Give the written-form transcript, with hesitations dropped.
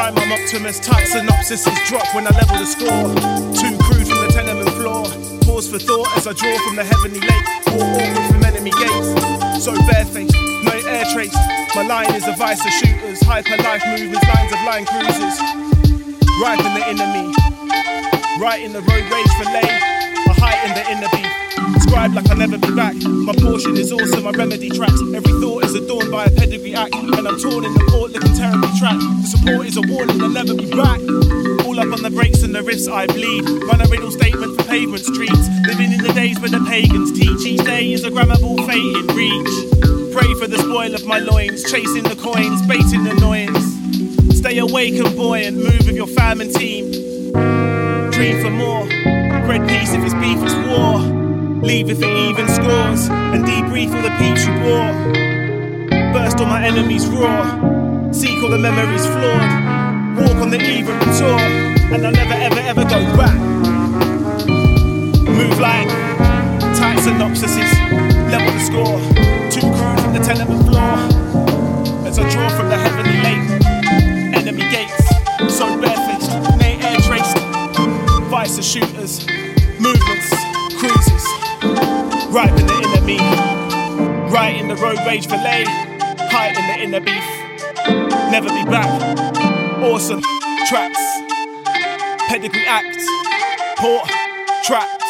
Time I'm Optimus, tight synopsis is drop when I level the score. Too crude from the tenement floor. Pause for thought as I draw from the heavenly lake. Walk awkward from enemy gates. So barefaced, no air trace. My line is a vice of shooters. Hyper life movements, lines of line cruisers. Ripe in the enemy. Right in the road rage for lay. A height in the inner beat. Scribe like I'll never be back. My portion is also my remedy tracks. Every thought is adorned by a pedigree act. And I'm torn in the port looking terribly trapped. The support is a warning, I'll never be back. All up on the brakes and the riffs I bleed. Run a riddle statement for pavement streets. Living in the days where the pagans teach. Each day is a grammable fate in reach. Pray for the spoil of my loins. Chasing the coins, baiting annoyance. Stay awake and buoyant. Move with your fam and team. Dream for more. Red peace if it's beef, it's war. Leave if it even scores. And debrief all the peeps you bore. Burst on my enemies roar. Seek all the memories flawed. Walk on the even tour. And I'll never ever ever go back. Move like tight synopsises. Level the score. Too crude from the tenement floor. As I draw from the heavenly lake. Enemy gates. So barefaced. Nay air traced. Vice of shooters. Movements. Cruises. Right in the inner me. Right in the road rage for lay. Height in the inner beef. Never be back. Awesome tracks. Pedigree act. Port. Track.